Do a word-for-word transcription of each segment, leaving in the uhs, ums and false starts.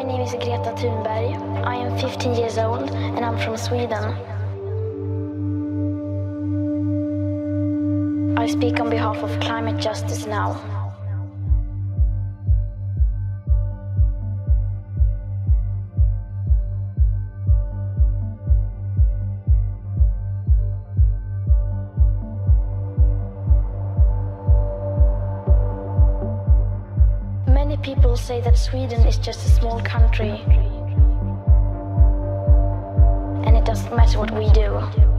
name is Greta Thunberg. I am fifteen years old and I'm from Sweden. I speak on behalf of climate justice now. Many people say that Sweden is just a small country and it doesn't matter what we do.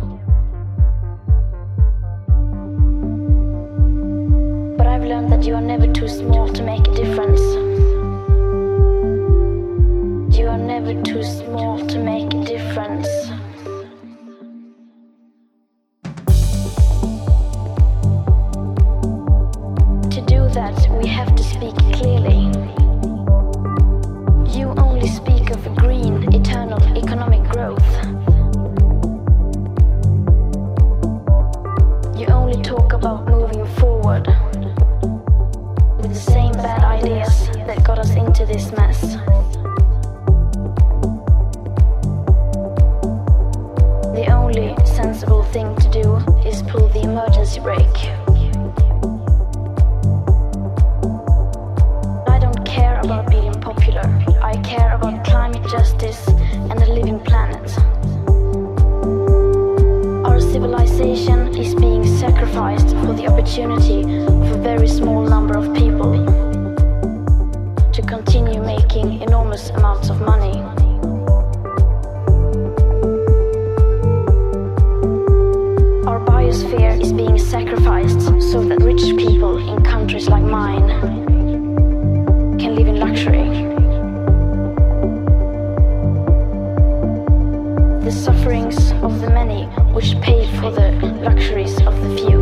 But I've learned that you are never too small to make a difference. You are never too small to make a difference. To do that, we have to speak clearly. You only speak of green, eternal economic growth. You only talk about moving forward with the same bad ideas that got us into this mess. The only sensible thing to do is pull the emergency brake. I don't care about being popular. I care about climate justice and a living planet. Our civilization is being sacrificed for the opportunity of a very small number of people to continue making enormous amounts of money. Our biosphere is being sacrificed so that rich people in countries like mine can live in luxury. The sufferings of the many which pay for the luxuries of the few.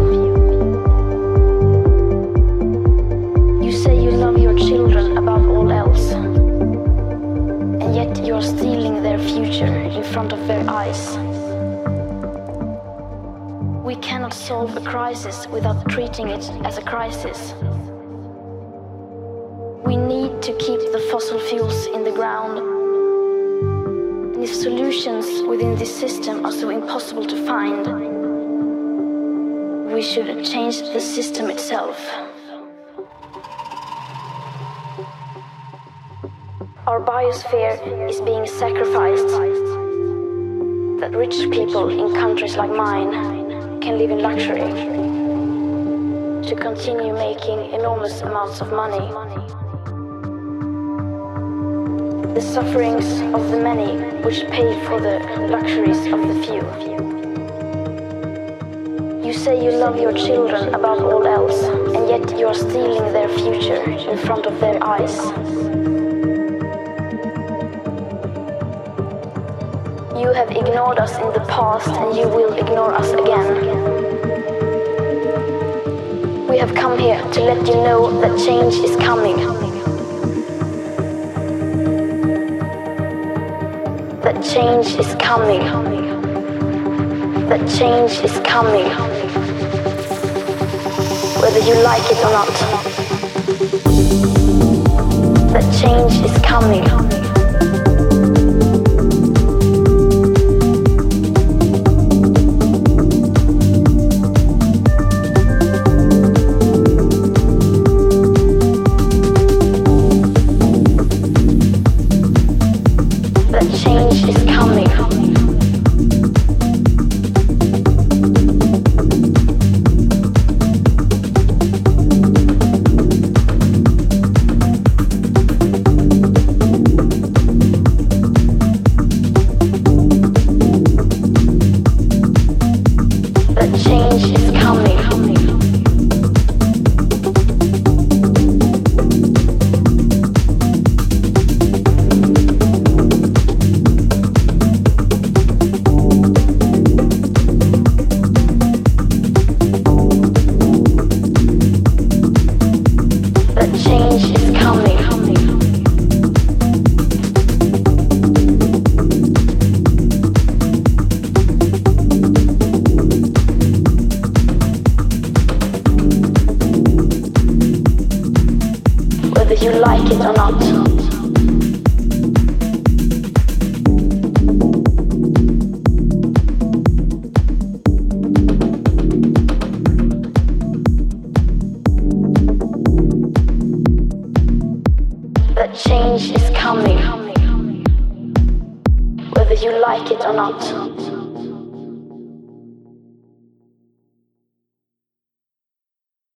You say you love your children above all else, and yet you are stealing their future in front of their eyes. We cannot solve a crisis without treating it as a crisis. We need to keep the fossil fuels in the ground. And if solutions within this system are so impossible to find, we should change the system itself. Our biosphere is being sacrificed that rich people in countries like mine can live in luxury to continue making enormous amounts of money. The sufferings of the many which pay for the luxuries of the few. You say you love your children above all else, and yet you are stealing their future in front of their eyes. You have ignored us in the past, and you will ignore us again. We have come here to let you know that change is coming. That change is coming. That change is coming. Whether you like it or not. That change is coming. whether you like it or not. change is coming, whether you like it or not.